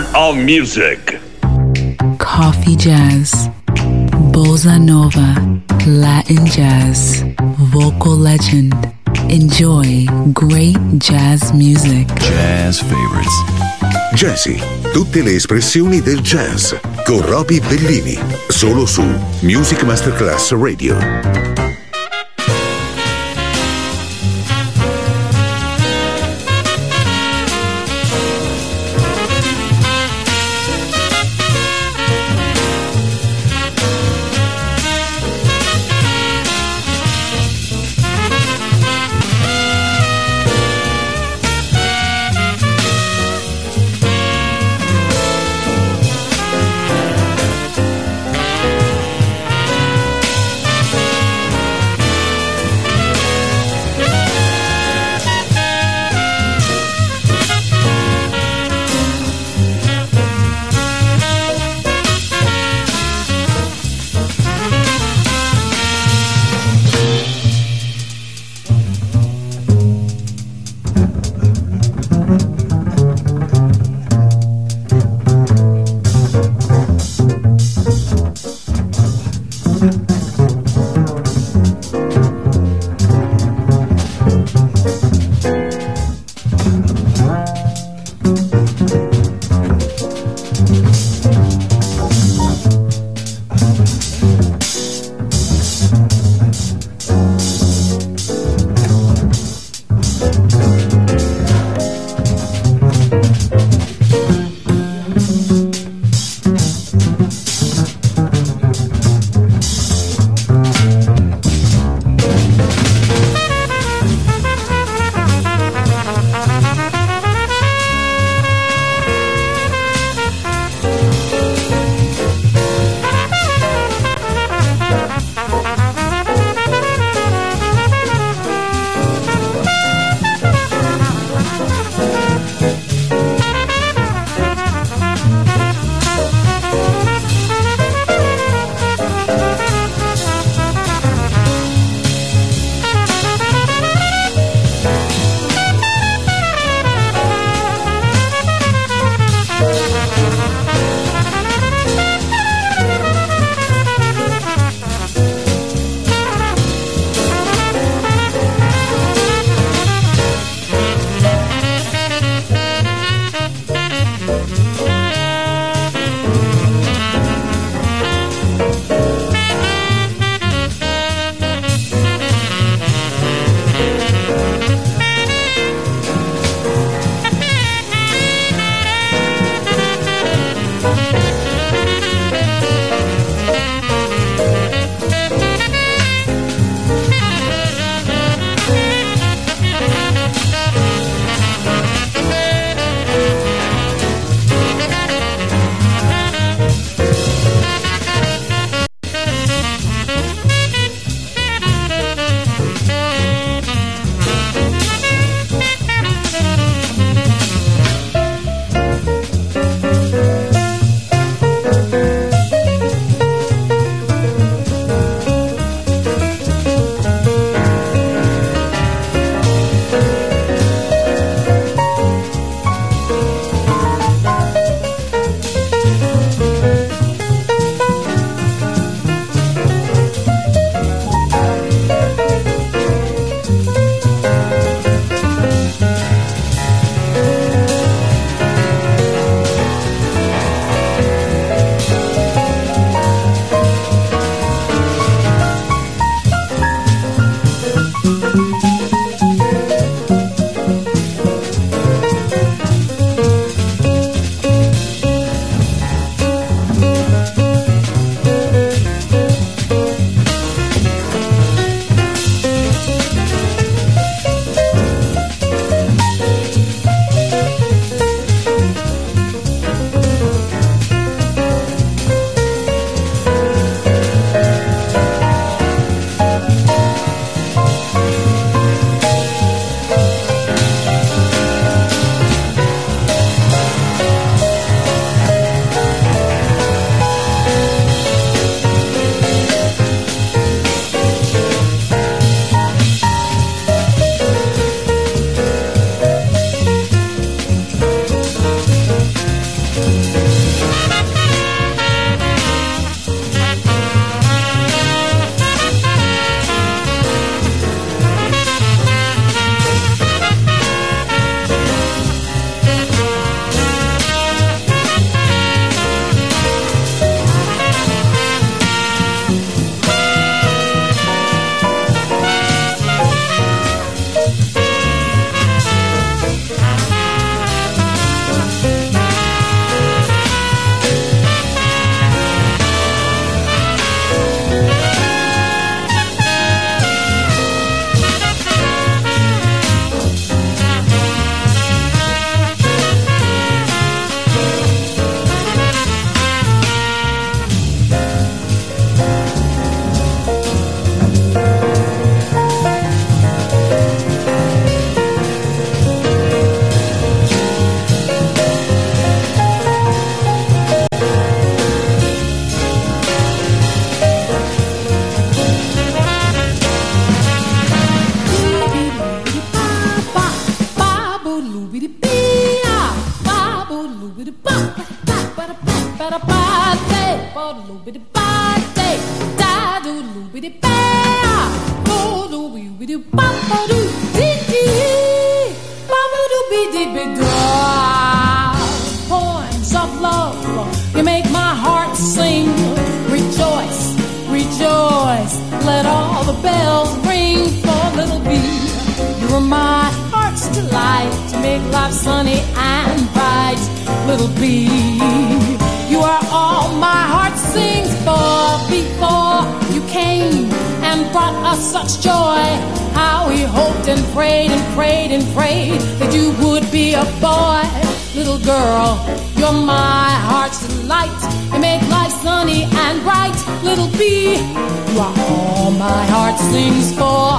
Soul of Music. Coffee jazz, bossa nova, Latin jazz, vocal legend. Enjoy great jazz music. Jazz favorites. Jazzy, tutte le espressioni del jazz con Roby Bellini, solo su Music Masterclass Radio. Poems of love, you make my heart sing. Rejoice, rejoice, let all the bells ring for little B. You're my heart's delight, to make life sunny and bright. Little B, you are all my heart sings for. Before you came and brought us such joy, how we hoped and prayed and prayed and prayed that you would be a boy. Little girl, you're my heart's delight, you make life sunny and bright. Little B, you are all my heart sings for.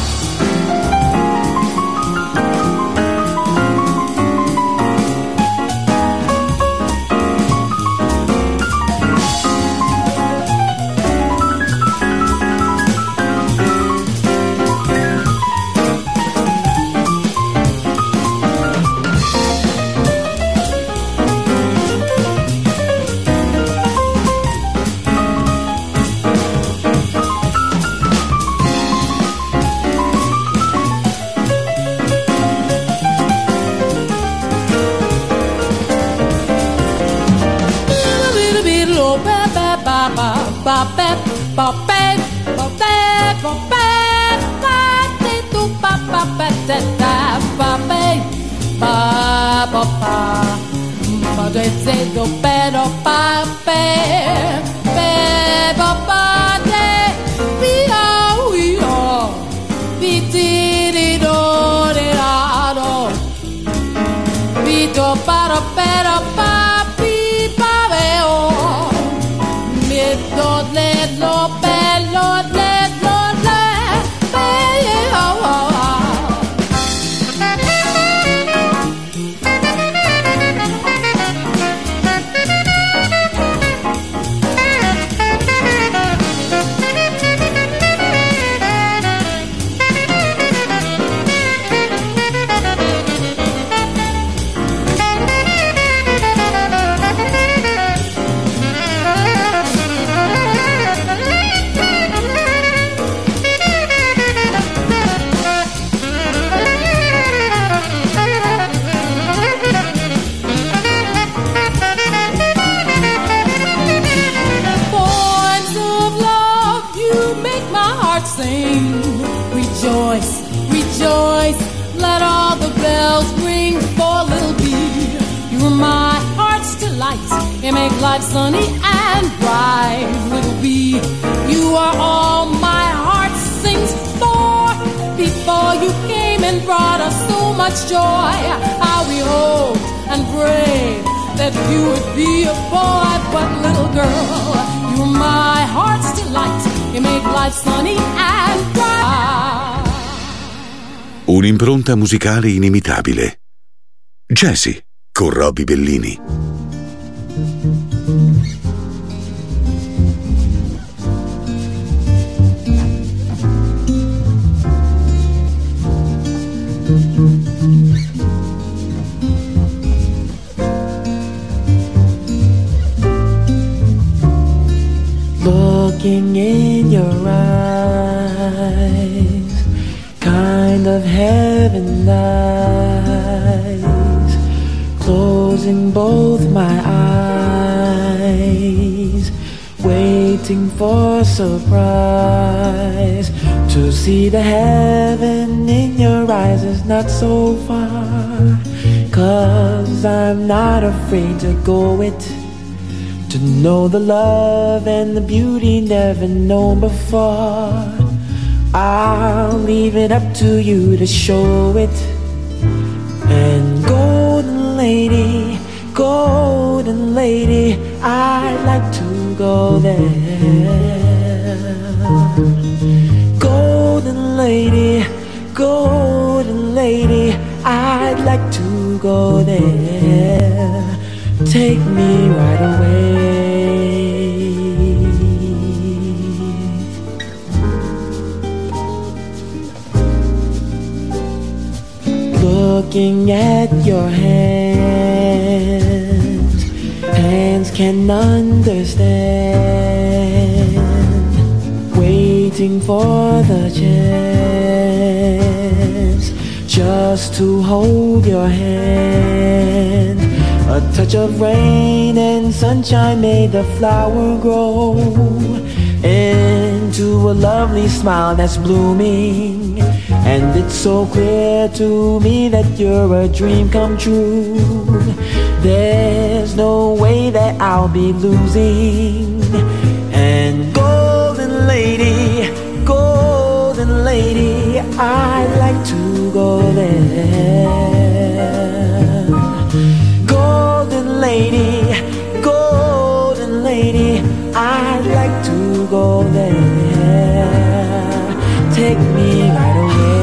Un'impronta musicale inimitabile. Jazzy con Robbie Bellini. Looking in your eyes, kind of heaven lies, closing both my eyes, waiting for surprise. To see the heaven in your eyes is not so far, 'cause I'm not afraid to go it, to know the love and the beauty never known before. I'll leave it up to you to show it. And golden lady, I'd like to go there. Golden lady, I'd like to go there. Take me right away. looking at your hands. Hands can understand, waiting for the chance just to hold your hand. A touch of rain and sunshine made the flower grow into a lovely smile that's blooming. And it's so clear to me that you're a dream come true. There's no way that I'll be losing. And golden lady, I'd like to go there. Golden lady, I'd like to go there. Take me right away.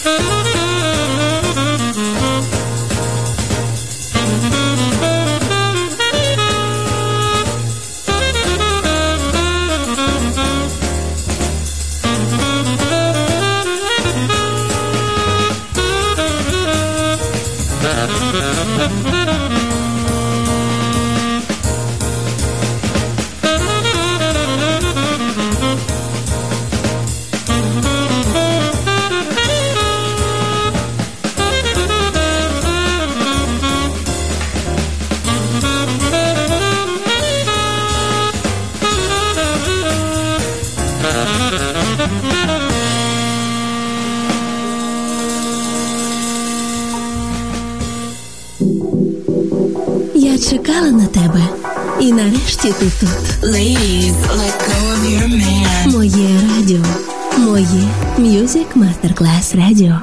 Я чекала на тебе, і нарешті ти тут. Ladies, let go of your man. Моє радіо, моє Music Masterclass Radio.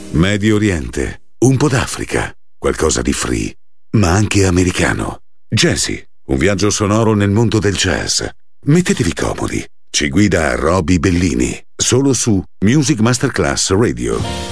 Medio Oriente, un po' d'Africa, qualcosa di free, ma anche americano. Jazzy, un viaggio sonoro nel mondo del jazz. Mettetevi comodi. Ci guida Roby Bellini, solo su Music Masterclass Radio.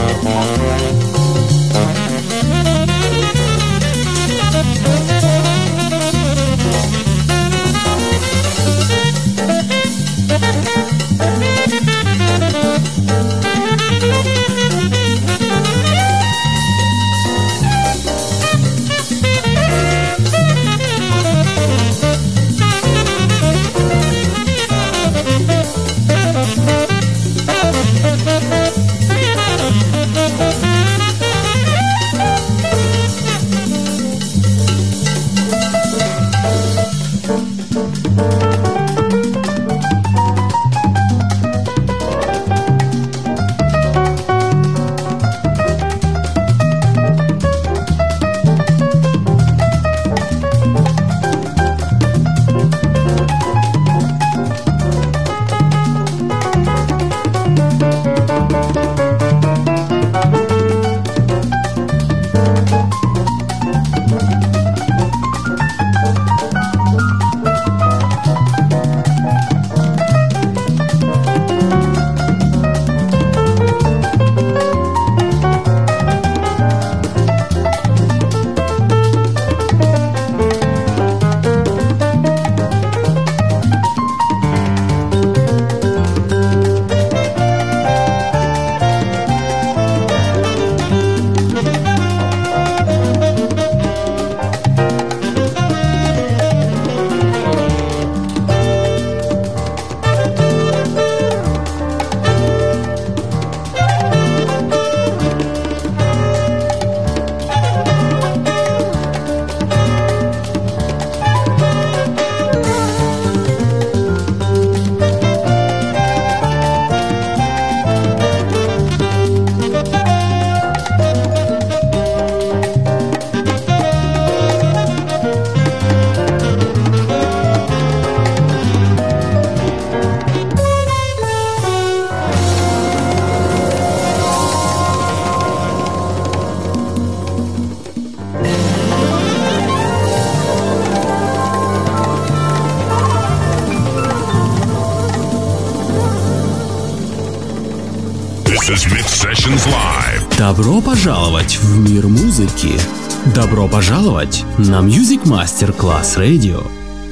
This is Mix Sessions Live. Добро пожаловать в мир музыки. Добро пожаловать на Music Master Class Radio.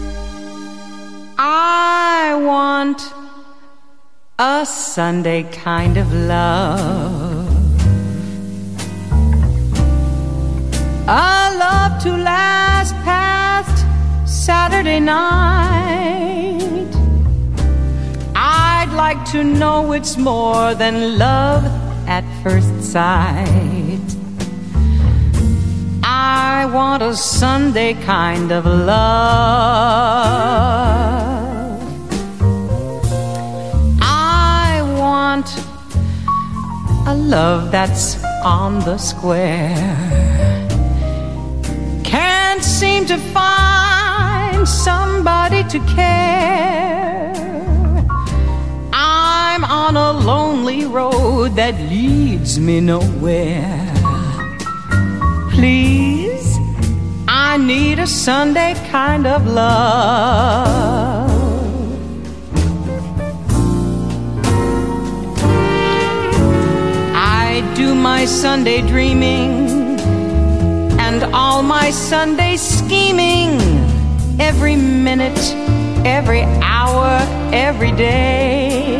I want a Sunday kind of love, a love to last past Saturday night. I'd like to know it's more than love at first sight. I want a Sunday kind of love, I want a love that's on the square. Can't seem to find somebody to care. I'm on a lonely road that leads me nowhere. Please, I need a Sunday kind of love. I do my Sunday dreaming and all my Sunday scheming, every minute, every hour, every day.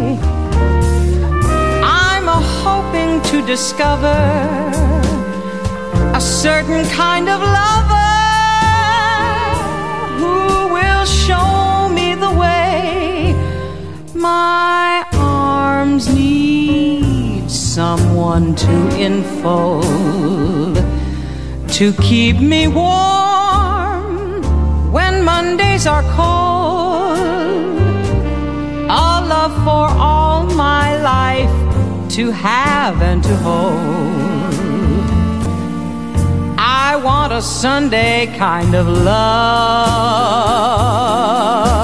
I'm hoping to discover a certain kind of lover who will show me the way. My arms need someone to enfold, to keep me warm when Mondays are cold. A love for all my life to have and to hold. I want a Sunday kind of love.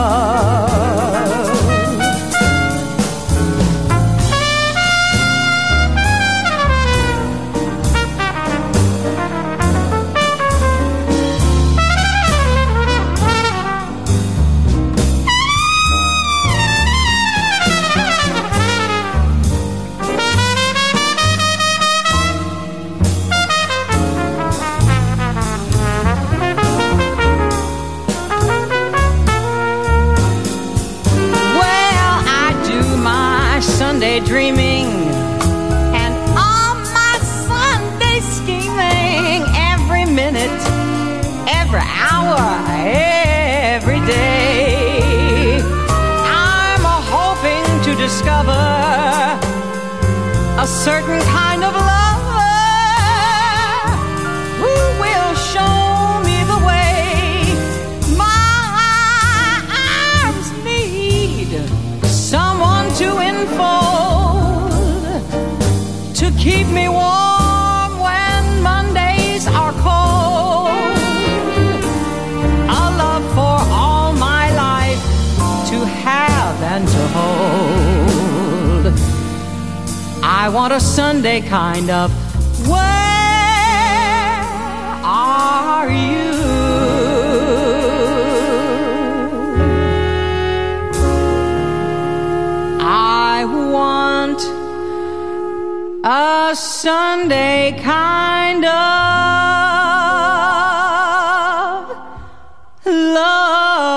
a certain kind of lover who will show me the way. My arms need someone to enfold, to keep me warm when Mondays are cold. A love for all my life to have and to hold. I want a Sunday kind of where are you? I want a Sunday kind of love.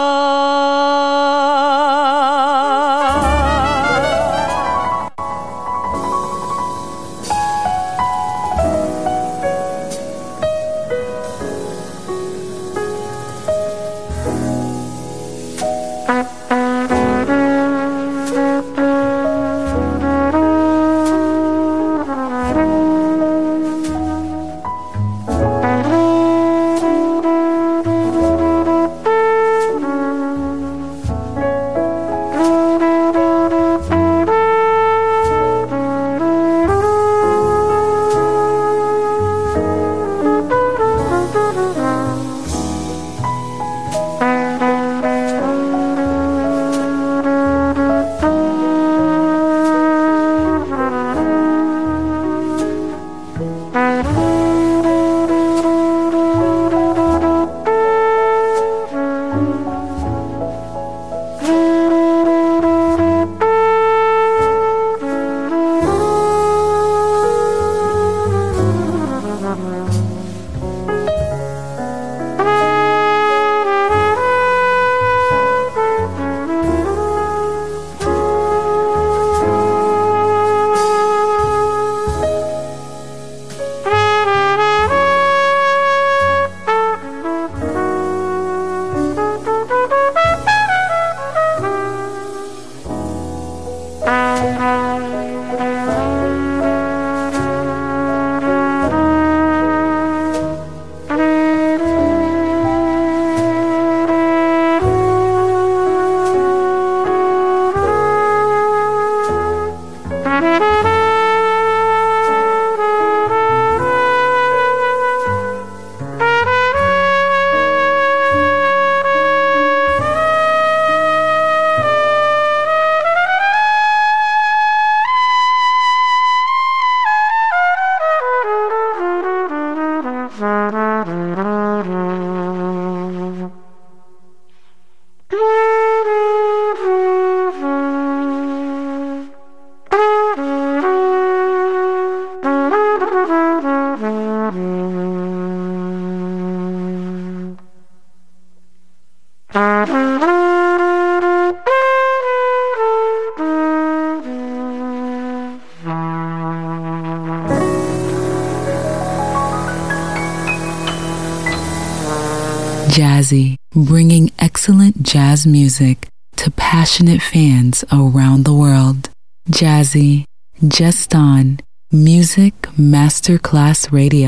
Jazzy, bringing excellent jazz music to passionate fans around the world. Jazzy, just on Music Masterclass Radio.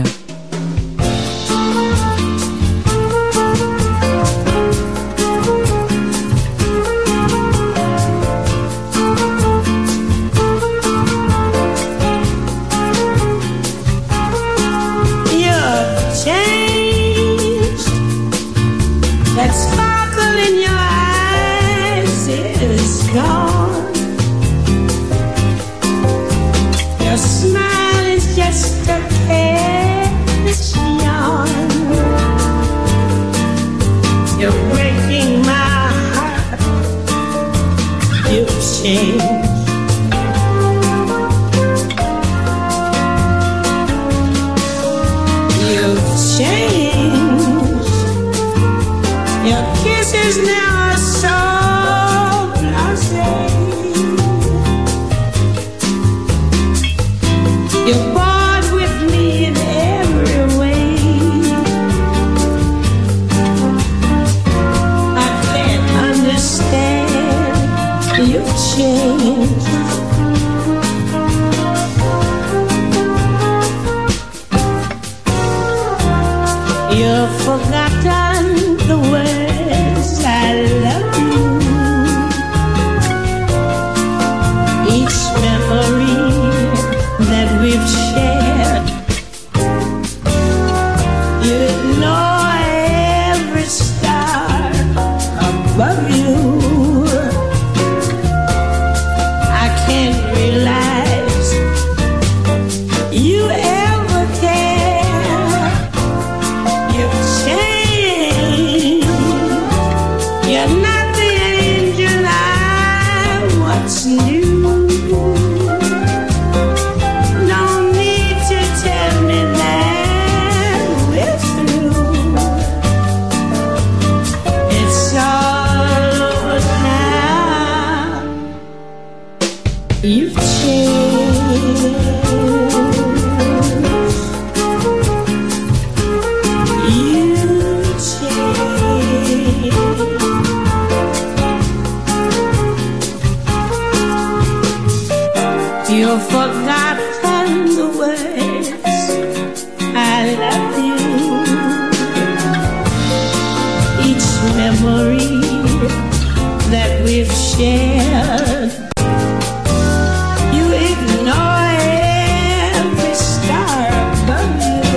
You've forgotten the words I love you. Each memory that we've shared, you ignore every star above you. I can't realize you ever care. You've changed. You're not the angel I once knew. No need to tell me that we're through. It's all over now. You've changed. You changed. You've forgotten the words I love you. Each memory that we've shared, you ignore every star above you.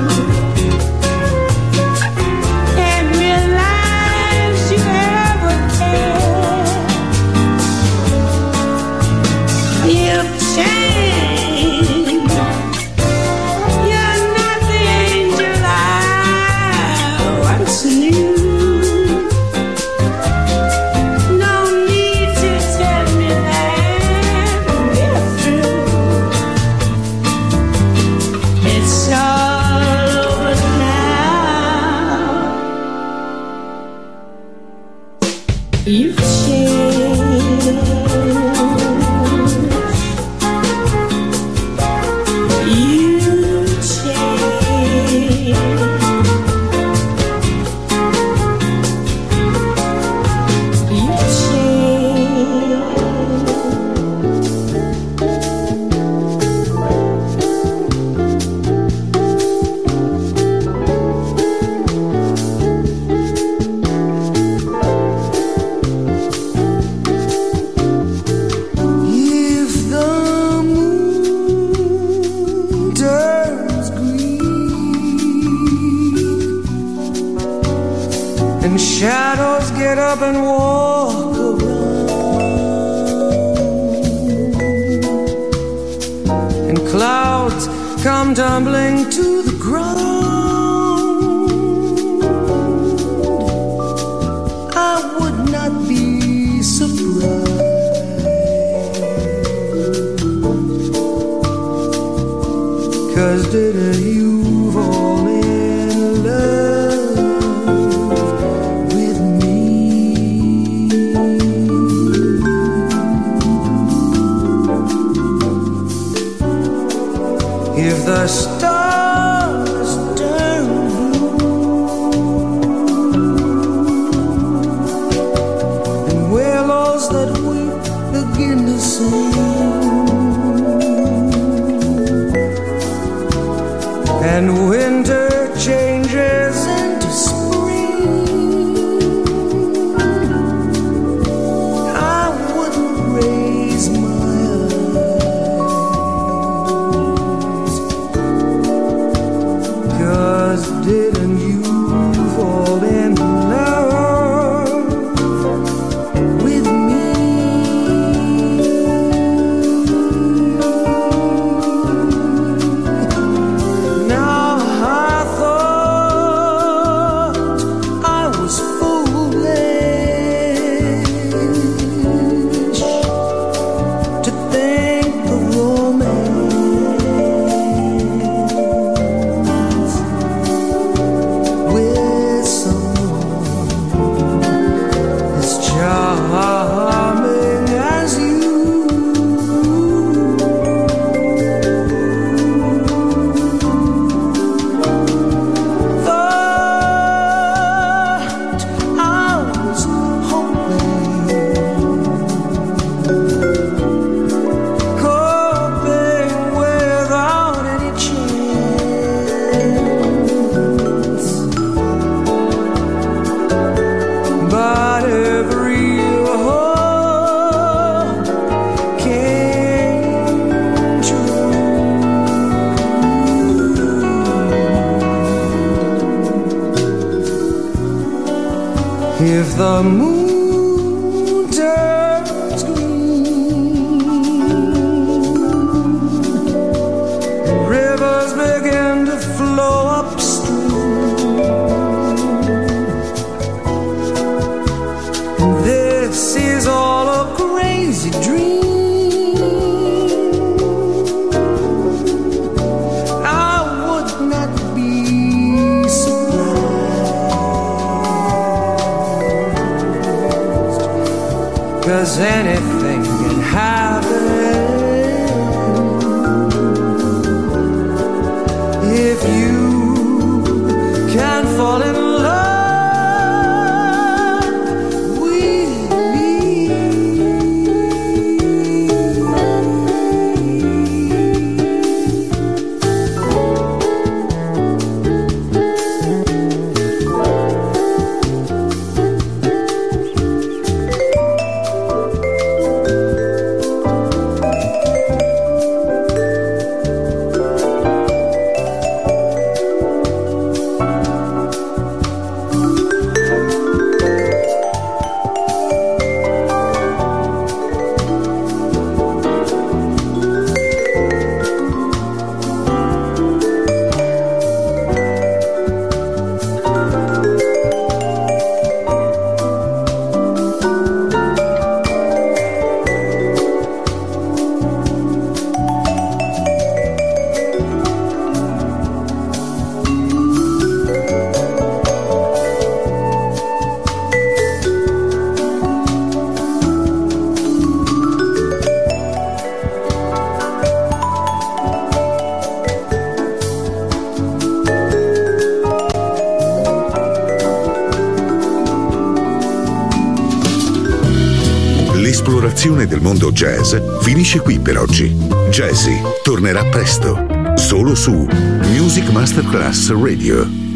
Can't realize you ever cared. You've changed. You're not the angel I once knew. No need to tell me that we're through. It's all over now. You've changed. You changed. You If the moon turns green and shadows get up and walk around and clouds come tumbling to the ground, I would not be surprised. 'Cause didn't you fall in love with me? If the stars turn blue and willows that weep begin to sing, and winter changes into spring, I wouldn't raise my eyes. 'Cause didn't you fall in love with me? Now if the moon turns green, rivers begin to flow upstream, and this is all a crazy dream. Cause anything can happen if you can fall in love with me. L'esplorazione del mondo jazz finisce qui per oggi. Jazzy tornerà presto, solo su Music Masterclass Radio.